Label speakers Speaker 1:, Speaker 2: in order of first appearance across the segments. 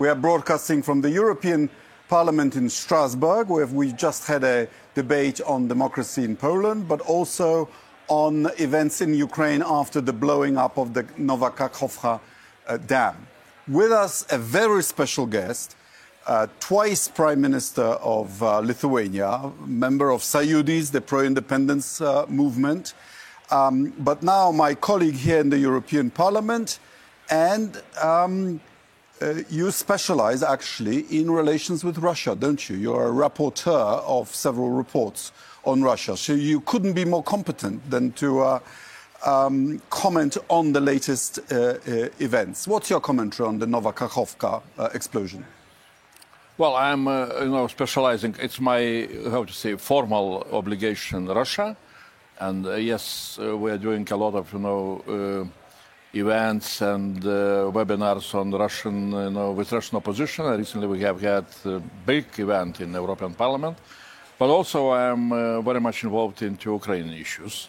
Speaker 1: We are broadcasting from the European Parliament in Strasbourg, where we just had a debate on democracy in Poland, but also on events in Ukraine after the blowing up of the Nowa Kakhovka dam. With us, a very special guest, twice Prime Minister of Lithuania, member of Sąjūdis, the pro-independence movement, but now my colleague here in the European Parliament, and you specialize actually in relations with Russia, don't you? You're a rapporteur of several reports on Russia, so you couldn't be more competent than to comment on the latest events. What's your commentary on the Nowa Kakhovka explosion?
Speaker 2: Well, I'm, specializing. It's my, formal obligation in Russia, and yes, we're doing a lot of, events and webinars on Russian, with Russian opposition. Recently, we have had a big event in the European Parliament, but also I'm very much involved into Ukrainian issues.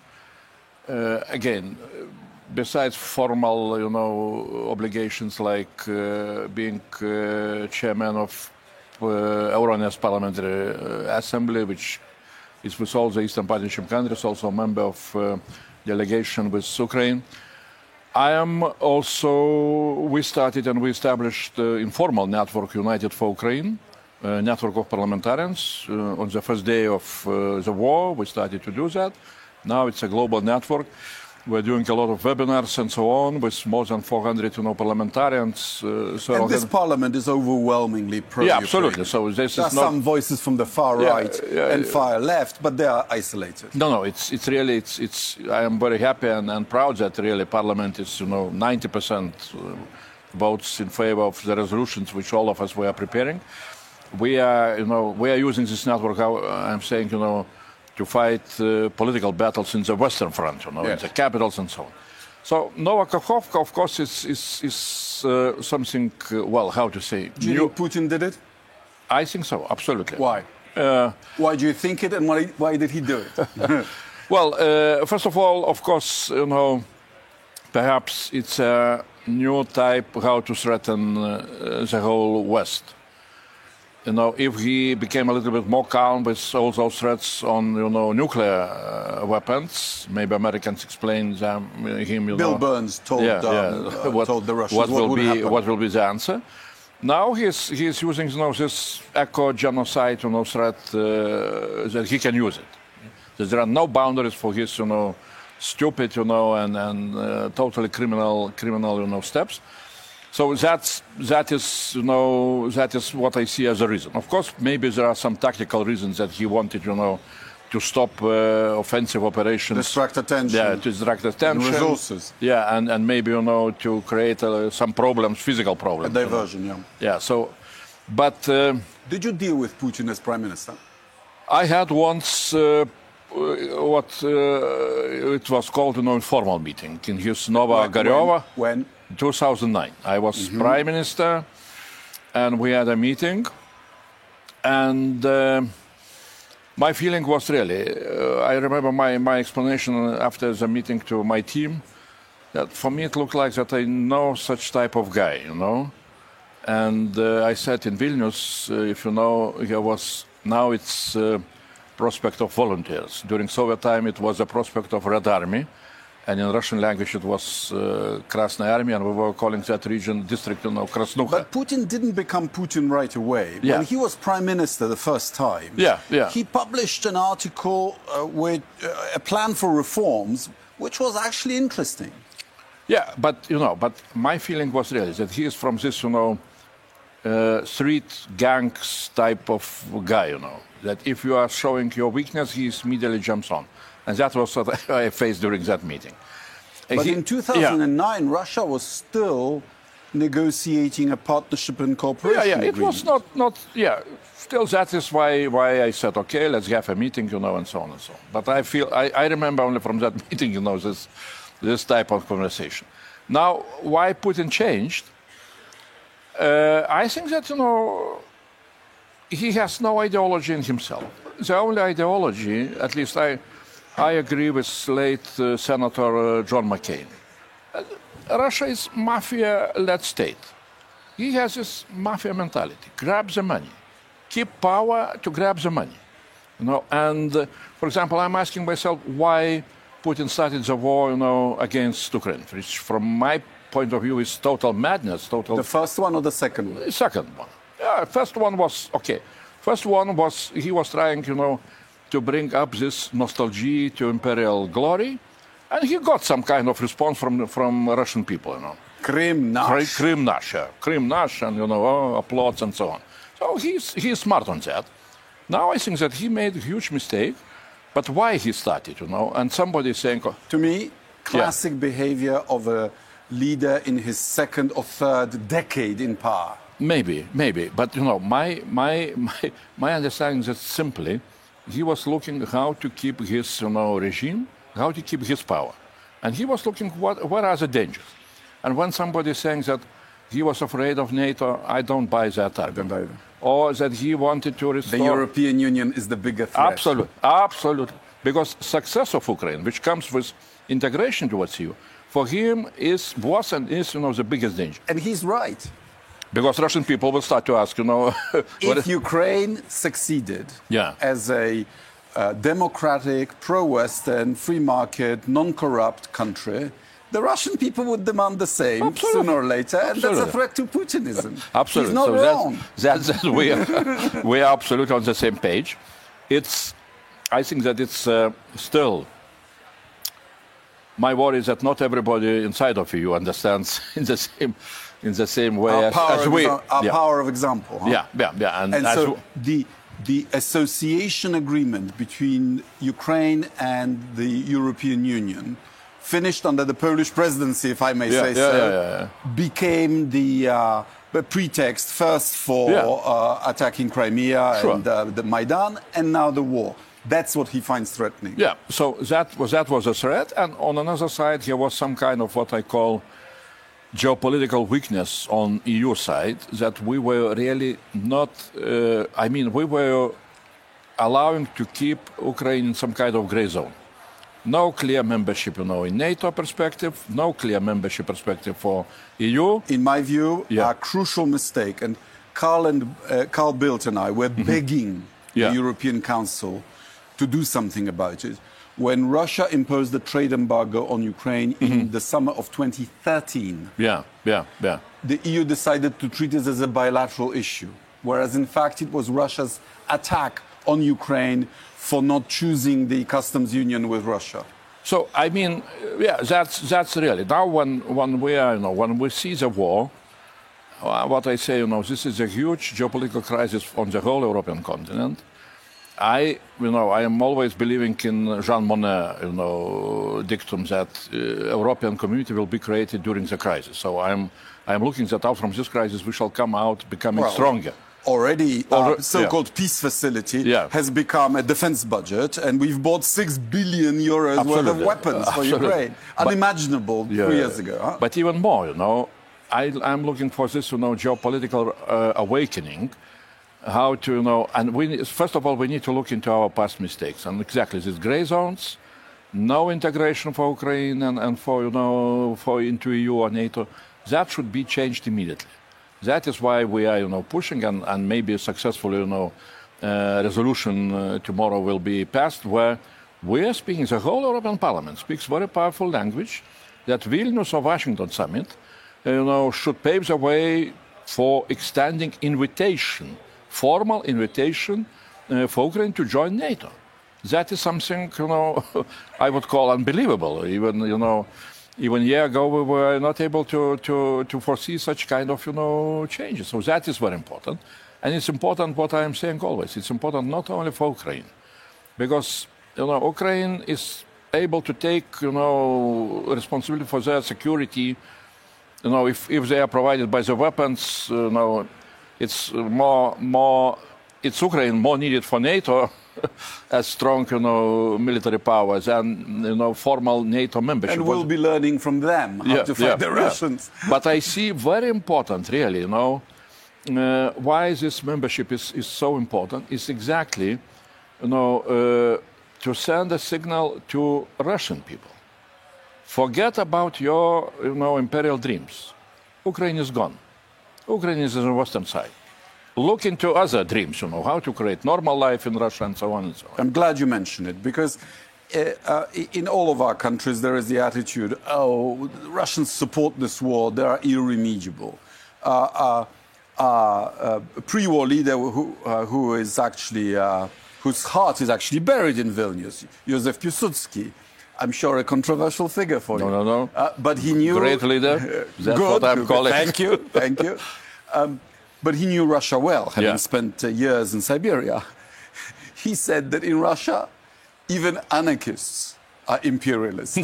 Speaker 2: Again, besides formal, obligations like being chairman of Euronest Parliamentary Assembly, which is with all the Eastern Partnership countries, also a member of delegation with Ukraine. I am also, we started and we established the informal network United for Ukraine, a network of parliamentarians. On the first day of the war, we started to do that. Now it's a global network. We're doing a lot of webinars and so on with more than 400 parliamentarians.
Speaker 1: And this parliament is overwhelmingly pro-Ukraine.
Speaker 2: Yeah, absolutely. So this
Speaker 1: there are some voices from the far right and far left, but they are isolated.
Speaker 2: No, it's really, I am very happy and proud that really parliament is, 90% votes in favor of the resolutions which all of us were preparing. We are, we are using this network, I'm saying, to fight political battles in the Western Front, in the capitals and so on. So Nowa Kakhovka, of course, is something, how to say?
Speaker 1: Do you think Putin did it?
Speaker 2: I think so, absolutely.
Speaker 1: Why? Why do you think it, and why did he do it?
Speaker 2: Well, first of all, of course, perhaps it's a new type how to threaten the whole West. If he became a little bit more calm with all those threats on, nuclear weapons, maybe Americans explain him.
Speaker 1: Bill Burns told the Russians
Speaker 2: what will be the answer. Now he's using this eco-genocide, threat that he can use it. That there are no boundaries for his, stupid, and totally criminal, steps. So that is what I see as a reason. Of course, maybe there are some tactical reasons that he wanted, to stop offensive operations.
Speaker 1: Distract attention.
Speaker 2: Yeah, to distract attention.
Speaker 1: And resources.
Speaker 2: Yeah, and maybe, to create some problems, physical problems.
Speaker 1: A diversion,
Speaker 2: Yeah, so, but...
Speaker 1: Did you deal with Putin as Prime Minister?
Speaker 2: I had once what it was called an informal meeting in his Nova Garyova.
Speaker 1: When?
Speaker 2: 2009. I was Prime Minister, and we had a meeting. And my feeling was really, I remember my explanation after the meeting to my team, that for me it looked like that I know such type of guy, And I said in Vilnius, if you know, now it's prospect of volunteers. During Soviet time, it was a prospect of Red Army. And in Russian language, it was Krasnaya Army, and we were calling that region district, Krasnukha.
Speaker 1: But Putin didn't become Putin right away.
Speaker 2: Yeah.
Speaker 1: When he was Prime Minister the first time, he published an article with a plan for reforms, which was actually interesting.
Speaker 2: Yeah, but my feeling was really that he is from this, street gangs type of guy, that if you are showing your weakness, he immediately jumps on. And that was what I faced during that meeting.
Speaker 1: But in 2009, Russia was still negotiating a partnership and cooperation agreement.
Speaker 2: It was not. Still, that is why I said, okay, let's have a meeting, and so on and so on. But I remember only from that meeting, this type of conversation. Now, why Putin changed? I think that, he has no ideology in himself. The only ideology, at least I agree with late Senator John McCain. Russia is mafia-led state. he has this mafia mentality: grab the money, keep power to grab the money. And for example, I'm asking myself why Putin started the war, against Ukraine, which, from my point of view, is total madness.
Speaker 1: The first one or the second one?
Speaker 2: The second one. Yeah, first one was okay. First one was he was trying, to bring up this nostalgia to imperial glory, and he got some kind of response from Russian people,
Speaker 1: Krim Nash.
Speaker 2: Krim Nash, and applause and so on. So he's smart on that. Now I think that he made a huge mistake, but why he started, And somebody is saying,
Speaker 1: to me, classic behavior of a leader in his second or third decade in power.
Speaker 2: Maybe, but my understanding is that simply he was looking how to keep his regime, how to keep his power, and he was looking what are the dangers. And when somebody is saying that he was afraid of NATO, I don't buy that argument. Or that he wanted to restore...
Speaker 1: The European Union is the bigger threat.
Speaker 2: Absolutely. Because success of Ukraine, which comes with integration towards EU, for him was and is the biggest danger.
Speaker 1: And he's right.
Speaker 2: Because Russian people will start to ask,
Speaker 1: if Ukraine succeeded as a democratic, pro-Western, free market, non-corrupt country, the Russian people would demand the same sooner or later, and that's a threat to Putinism.
Speaker 2: Absolutely.
Speaker 1: He's not wrong.
Speaker 2: We are absolutely on the same page. I think that it's still... My worry is that not everybody inside of EU understands in the same way as we.
Speaker 1: Our power of example. Huh?
Speaker 2: Yeah.
Speaker 1: And so the association agreement between Ukraine and the European Union, finished under the Polish presidency, if I may say so, became the pretext first for attacking Crimea and the Maidan, and now the war. That's what he finds threatening.
Speaker 2: Yeah, so that was a threat, and on another side, there was some kind of what I call geopolitical weakness on EU side, that we were really not, we were allowing to keep Ukraine in some kind of gray zone. No clear membership, in NATO perspective, no clear membership perspective for EU.
Speaker 1: In my view, a crucial mistake, and Carl Bildt and I were begging the European Council to do something about it. When Russia imposed the trade embargo on Ukraine in the summer of 2013, the EU decided to treat it as a bilateral issue, whereas in fact it was Russia's attack on Ukraine for not choosing the customs union with Russia.
Speaker 2: So that's really now when we see the war, what I say, this is a huge geopolitical crisis on the whole European continent. I am always believing in Jean Monnet, dictum that European community will be created during the crisis. So I'm looking that out from this crisis we shall come out becoming stronger.
Speaker 1: Already, so-called peace facility has become a defense budget, and we've bought 6 billion euros worth of weapons for Ukraine. Unimaginable 3 years ago. Huh?
Speaker 2: But even more, I'm looking for this, geopolitical awakening. How to, and first of all, we need to look into our past mistakes. And exactly, these gray zones, no integration for Ukraine and for into EU or NATO, that should be changed immediately. That is why we are, pushing, and maybe a successful, resolution tomorrow will be passed, where we are speaking, the whole European Parliament speaks very powerful language, that Vilnius or Washington summit, should pave the way for extending formal invitation for Ukraine to join NATO. That is something, I would call unbelievable. Even a year ago, we were not able to foresee such kind of, changes. So that is very important. And it's important what I am saying always. It's important not only for Ukraine, because, Ukraine is able to take, responsibility for their security. If they are provided by the weapons, it's it's Ukraine more needed for NATO as strong, military power than, formal NATO membership.
Speaker 1: And we'll be learning from them how to fight the Russians.
Speaker 2: But I see very important, really, why this membership is so important is exactly, to send a signal to Russian people. Forget about your, imperial dreams. Ukraine is gone. Ukraine is on the western side. Look into other dreams, how to create normal life in Russia and so on and so on.
Speaker 1: I'm glad you mentioned it because in all of our countries there is the attitude, oh, the Russians support this war, they are irremediable. Pre-war leader who is actually, whose heart is actually buried in Vilnius, Joseph Piłsudski. I'm sure a controversial figure for you.
Speaker 2: No.
Speaker 1: But he knew...
Speaker 2: Great leader. That's
Speaker 1: good,
Speaker 2: what I'm calling.
Speaker 1: Thank you, thank you. But he knew Russia well, having spent years in Siberia. He said that in Russia, even anarchists are imperialists.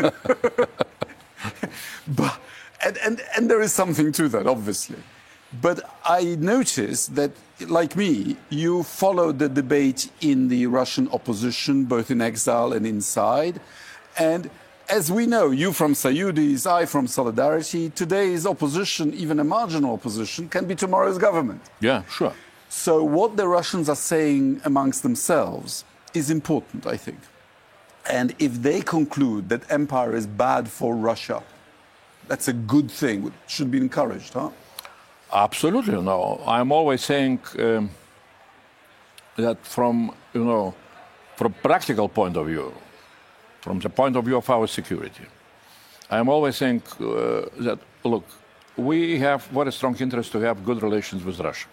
Speaker 1: and there is something to that, obviously. But I noticed that, like me, you followed the debate in the Russian opposition, both in exile and inside. And as we know, you from Soyuz, I from Solidarity, today's opposition, even a marginal opposition, can be tomorrow's government.
Speaker 2: Yeah, sure.
Speaker 1: So what the Russians are saying amongst themselves is important, I think. And if they conclude that empire is bad for Russia, that's a good thing, which should be encouraged, huh?
Speaker 2: Absolutely, no. I'm always saying that from practical point of view, from the point of view of our security, I'm always saying that, look, we have very strong interest to have good relations with Russia.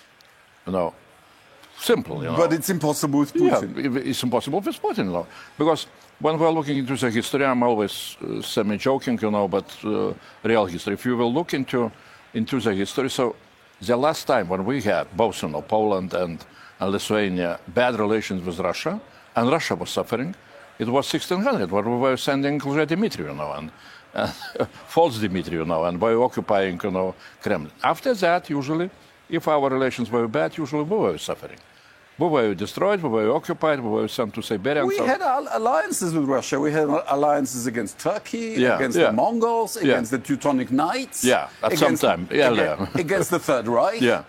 Speaker 2: Simple,
Speaker 1: But it's impossible with Putin.
Speaker 2: Yeah, it's impossible with Putin, because when we're looking into the history, I'm always semi-joking, but real history. If you will look into the history, so the last time when we had both, Poland and Lithuania, bad relations with Russia, and Russia was suffering, it was 1600, where we were sending Dmitry, and false Dmitry, and by occupying, Kremlin. After that, usually, if our relations were bad, usually we were suffering. We were destroyed, we were occupied, we were sent to Siberia.
Speaker 1: We had alliances with Russia. We had alliances against Turkey, against the Mongols, against the Teutonic Knights.
Speaker 2: Yeah, at some time.
Speaker 1: Against the Third Reich.
Speaker 2: Yeah.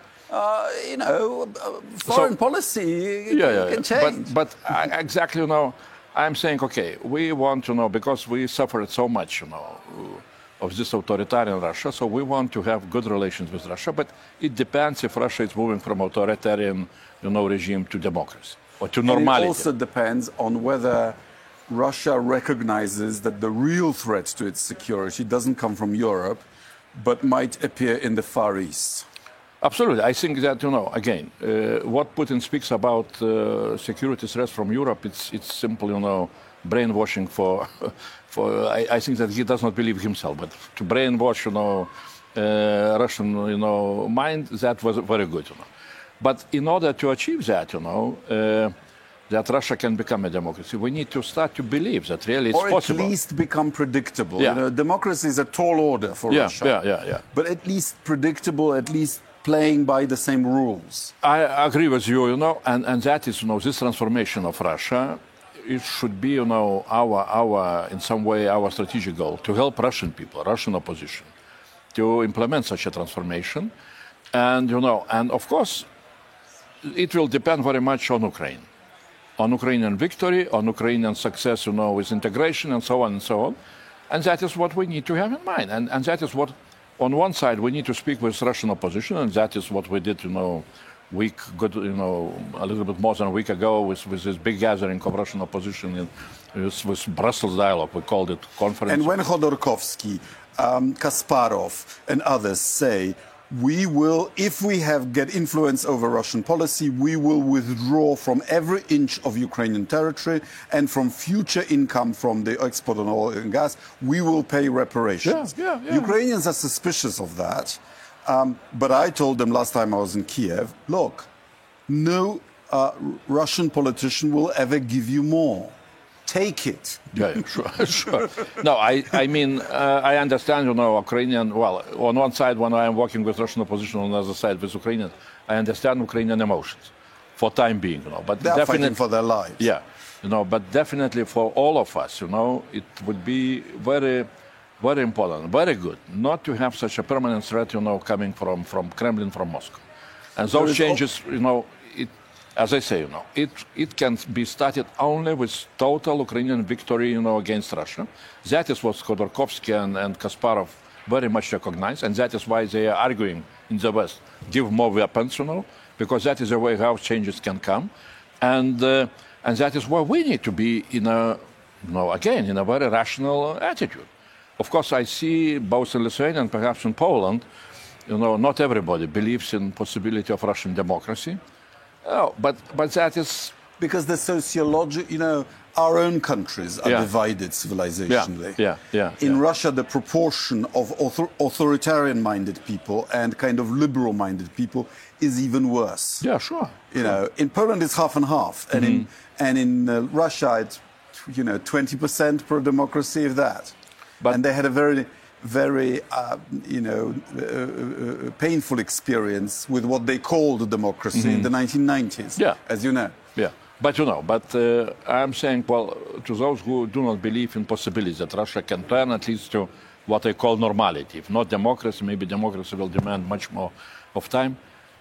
Speaker 1: Foreign policy can change.
Speaker 2: But exactly, I'm saying, okay, we want to know, because we suffered so much, of this authoritarian Russia, so we want to have good relations with Russia, but it depends if Russia is moving from authoritarian, regime to democracy or to normality.
Speaker 1: And it also depends on whether Russia recognizes that the real threat to its security doesn't come from Europe, but might appear in the Far East.
Speaker 2: Absolutely. I think that, again, what Putin speaks about security threats from Europe, it's simply, brainwashing for I think that he does not believe himself, but to brainwash, Russian, mind, that was very good, But in order to achieve that, that Russia can become a democracy, we need to start to believe that really it's possible.
Speaker 1: Or at least become predictable.
Speaker 2: Yeah.
Speaker 1: Democracy is a tall order for Russia.
Speaker 2: Yeah.
Speaker 1: But at least predictable, at least playing by the same rules.
Speaker 2: I agree with you, and that is, this transformation of Russia. It should be, our in some way our strategic goal to help Russian people, Russian opposition, to implement such a transformation, and and of course, it will depend very much on Ukraine, on Ukrainian victory, on Ukrainian success, with integration and so on, and that is what we need to have in mind, and that is what, on one side, we need to speak with Russian opposition, and that is what we did, a little bit more than a week ago with this big gathering of Russian opposition with Brussels Dialogue. We called it conference.
Speaker 1: And when Khodorkovsky, Kasparov and others say, we will, if we get influence over Russian policy, we will withdraw from every inch of Ukrainian territory and from future income from the export of oil and gas, we will pay reparations.
Speaker 2: Yeah.
Speaker 1: Ukrainians are suspicious of that. But I told them last time I was in Kiev, look, no Russian politician will ever give you more. Take it.
Speaker 2: Yeah, sure. No, I mean, I understand, Ukrainian, well, on one side, when I am working with Russian opposition, on the other side with Ukrainians, I understand Ukrainian emotions for time being, But
Speaker 1: they are fighting for their lives.
Speaker 2: Yeah, but definitely for all of us, it would be very, very important, very good, not to have such a permanent threat, coming from Kremlin, from Moscow. And those changes, as I say, it can be started only with total Ukrainian victory, against Russia. That is what Khodorkovsky and Kasparov very much recognize, and that is why they are arguing in the West, give more weapons, because that is the way how changes can come. And that is where we need to be in a very rational attitude. Of course, I see both in Lithuania and perhaps in Poland, not everybody believes in possibility of Russian democracy. But that is...
Speaker 1: Because the sociology, our own countries are divided civilizationally. In Russia, the proportion of authoritarian-minded people and kind of liberal-minded people is even worse.
Speaker 2: Yeah, sure.
Speaker 1: In Poland it's half and half, and in Russia it's 20% pro-democracy, if that. And they had a very, very painful experience with what they called democracy in the 1990s, as you know.
Speaker 2: Yeah. But I'm saying, to those who do not believe in possibilities that Russia can turn at least to what I call normality. If not democracy, maybe democracy will demand much more of time.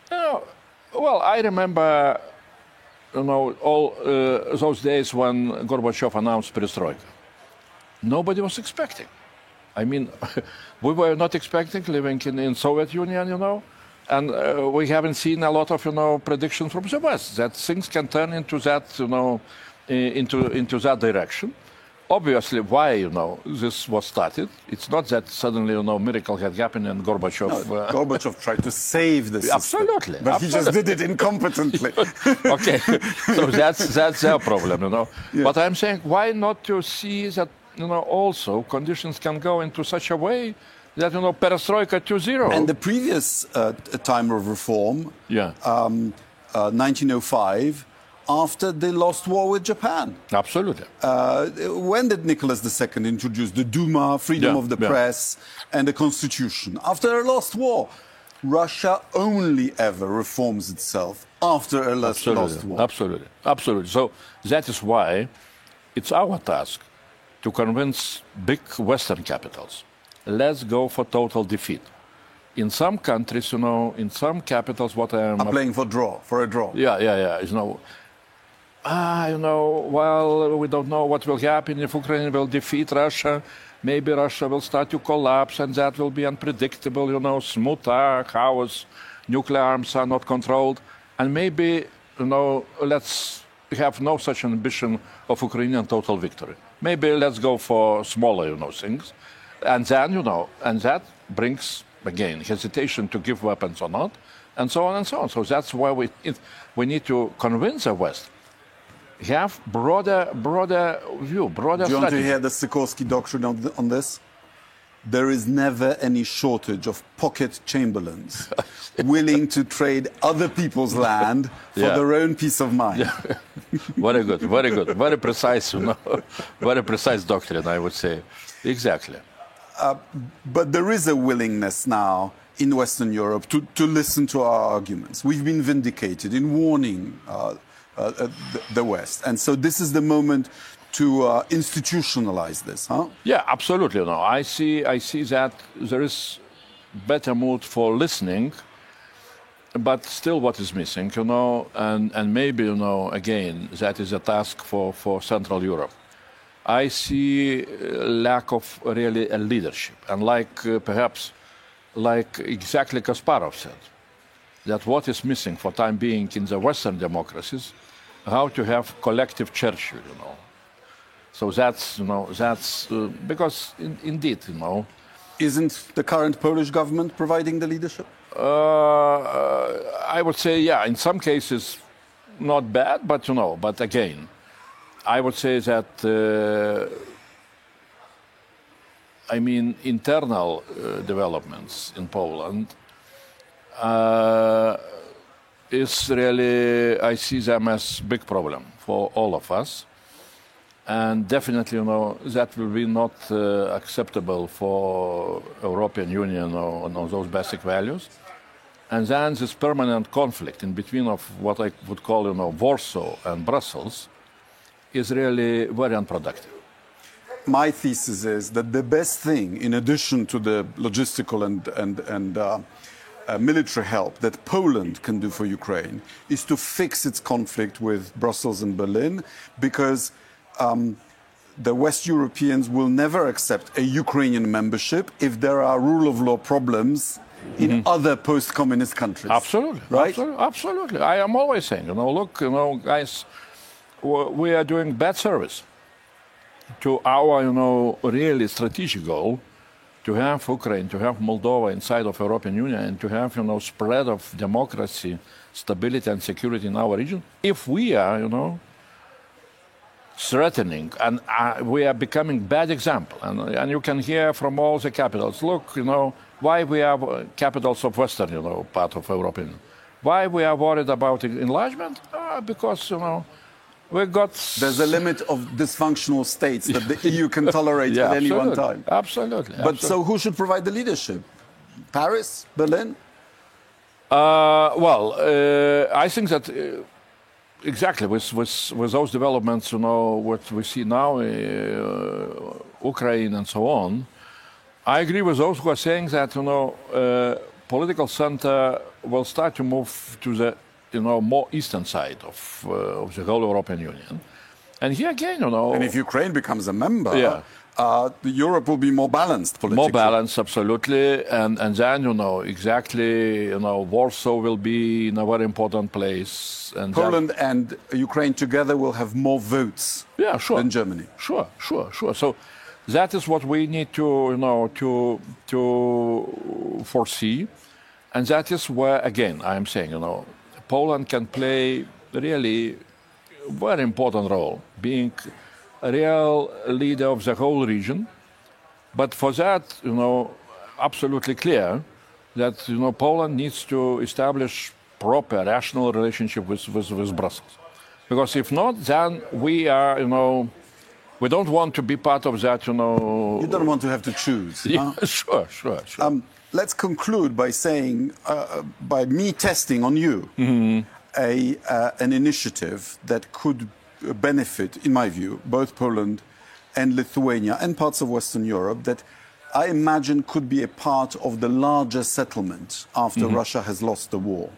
Speaker 2: I remember, all those days when Gorbachev announced perestroika. Nobody was expecting. I mean, we were not expecting living in Soviet Union, and we haven't seen a lot of, predictions from the West that things can turn into that, into that direction. Obviously, why, this was started. It's not that suddenly, miracle had happened and Gorbachev...
Speaker 1: No, Gorbachev tried to save the system.
Speaker 2: Absolutely.
Speaker 1: But he just did it incompetently.
Speaker 2: Okay, so that's their problem, Yeah. But I'm saying, why not to see that, also conditions can go into such a way that, perestroika 2.0.
Speaker 1: And the previous time of reform, 1905, after they lost war with Japan.
Speaker 2: Absolutely.
Speaker 1: When did Nicholas II introduce the Duma, freedom of the press, and the constitution? After a lost war. Russia only ever reforms itself after a lost war.
Speaker 2: Absolutely. So that is why it's our task to convince big Western capitals. Let's go for total defeat. In some countries, in some capitals, what I am...
Speaker 1: playing for a draw.
Speaker 2: Yeah. Well, we don't know what will happen if Ukraine will defeat Russia. Maybe Russia will start to collapse, and that will be unpredictable, smooth chaos, nuclear arms are not controlled. And maybe, let's have no such ambition of Ukrainian total victory. Maybe let's go for smaller, things. And then, and that brings, again, hesitation to give weapons or not, and so on and so on. So that's why we need to convince the West. Have broader view, broader strategy.
Speaker 1: Do you want to hear the Sikorsky doctrine on this? There is never any shortage of pocket chamberlains willing to trade other people's land for their own peace of mind.
Speaker 2: Yeah. Very good. Very precise, very precise doctrine, I would say. Exactly.
Speaker 1: But there is a willingness now in Western Europe to listen to our arguments. We've been vindicated in warning the West. And so this is the moment to institutionalize this, huh?
Speaker 2: Yeah, absolutely. I see that there is better mood for listening, but still what is missing, and maybe, again, that is a task for Central Europe. I see lack of really a leadership, and perhaps exactly Kasparov said, that what is missing for time being in the Western democracies, how to have collective Churchill, So that's because indeed,
Speaker 1: Isn't the current Polish government providing the leadership?
Speaker 2: I would say, in some cases, not bad, but again, I would say that, internal developments in Poland is really, I see them as big problem for all of us. And definitely, that will be not acceptable for European Union on those basic values. And then this permanent conflict in between of what I would call, Warsaw and Brussels is really very unproductive.
Speaker 1: My thesis is that the best thing, in addition to the logistical and military help that Poland can do for Ukraine, is to fix its conflict with Brussels and Berlin, because the West Europeans will never accept a Ukrainian membership if there are rule of law problems in other post-communist countries.
Speaker 2: Absolutely,
Speaker 1: right?
Speaker 2: Absolutely. I am always saying, look, guys, we are doing bad service to our, really strategic goal to have Ukraine, to have Moldova inside of European Union, and to have, spread of democracy, stability, and security in our region. If we are, threatening, and we are becoming bad example, and you can hear from all the capitals, look, why we have capitals of Western, part of European Union. Why we are worried about enlargement? Because, we got...
Speaker 1: There's a limit of dysfunctional states that the EU can tolerate at any one time.
Speaker 2: Absolutely.
Speaker 1: But so who should provide the leadership? Paris? Berlin?
Speaker 2: I think that exactly with those developments, what we see now, Ukraine and so on, I agree with those who are saying that, political center will start to move to the more eastern side of the whole European Union. And here again,
Speaker 1: And if Ukraine becomes a member, Europe will be more balanced politically.
Speaker 2: More balanced, absolutely. And then, exactly, Warsaw will be in a very important place. And
Speaker 1: Poland and Ukraine together will have more votes than Germany.
Speaker 2: Sure. So that is what we need to foresee. And that is where, again, I am saying, Poland can play really very important role, being a real leader of the whole region. But for that, absolutely clear that, Poland needs to establish proper, rational relationship with Brussels. Because if not, then we are, we don't want to be part of that, You
Speaker 1: don't want to have to choose.
Speaker 2: Yeah, sure.
Speaker 1: Let's conclude by saying, by me testing on you, an initiative that could benefit, in my view, both Poland and Lithuania and parts of Western Europe, that I imagine could be a part of the larger settlement after Russia has lost the war.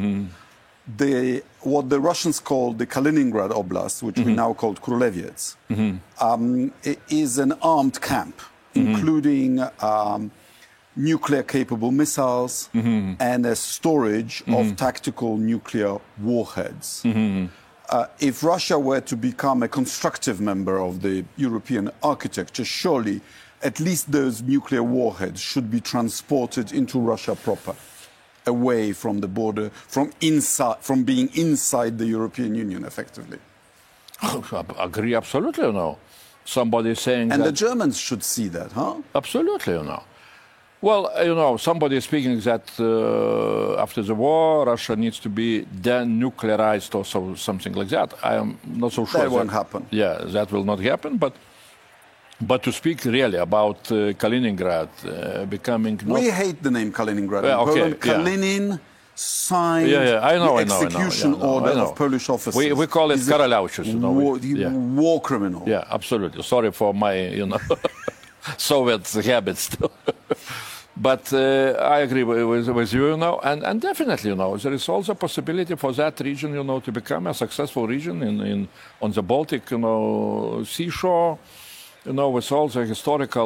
Speaker 1: What the Russians call the Kaliningrad Oblast, which we now call Królewieś, is an armed camp, including nuclear-capable missiles and a storage of tactical nuclear warheads. If Russia were to become a constructive member of the European architecture, surely at least those nuclear warheads should be transported into Russia proper, away from the border, from being inside the European Union, effectively.
Speaker 2: I agree, absolutely, Somebody saying
Speaker 1: and
Speaker 2: that...
Speaker 1: the Germans should see that, huh?
Speaker 2: Absolutely, Well, somebody is speaking that after the war, Russia needs to be denuclearized or something like that. I am not so sure.
Speaker 1: That won't happen.
Speaker 2: Yeah, that will not happen. But to speak really about Kaliningrad becoming...
Speaker 1: We hate the name Kaliningrad in Poland. Kalinin signed execution order of Polish officers.
Speaker 2: We call it Karalauchus.
Speaker 1: War criminal.
Speaker 2: Yeah, absolutely. Sorry for my, Soviet habits. But I agree with you, and definitely, there is also a possibility for that region, to become a successful region on the Baltic, seashore, with all the historical,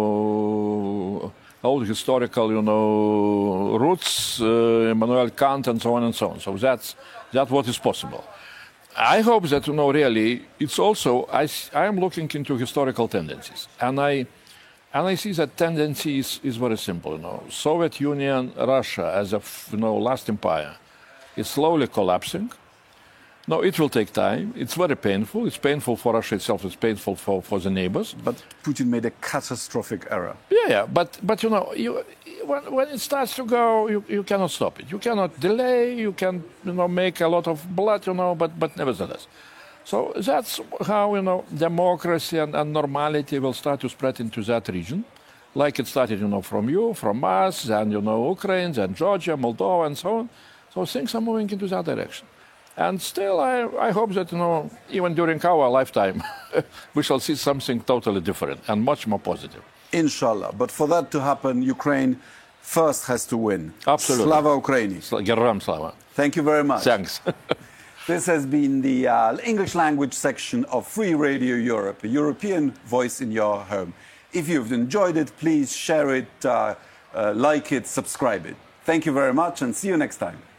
Speaker 2: old historical, roots, Immanuel Kant, and so on and so on. So that's what is possible. I hope that, really, it's also, I am looking into historical tendencies, and I see that tendency is very simple. Soviet Union, Russia as a last empire is slowly collapsing. No, it will take time. It's very painful. It's painful for Russia itself. It's painful for the neighbors.
Speaker 1: But Putin made a catastrophic error.
Speaker 2: Yeah. But when it starts to go, you cannot stop it. You cannot delay. You can make a lot of blood. But nevertheless. So that's how, democracy and normality will start to spread into that region, like it started, from you, from us, then, Ukraine, then Georgia, Moldova, and so on. So things are moving into that direction. And still, I hope that, even during our lifetime, we shall see something totally different and much more positive.
Speaker 1: Inshallah. But for that to happen, Ukraine first has to win.
Speaker 2: Absolutely.
Speaker 1: Slava Ukraini.
Speaker 2: Geram Slava.
Speaker 1: Thank you very much.
Speaker 2: Thanks.
Speaker 1: This has been the English language section of Free Radio Europe, a European voice in your home. If you've enjoyed it, please share it, like it, subscribe it. Thank you very much and see you next time.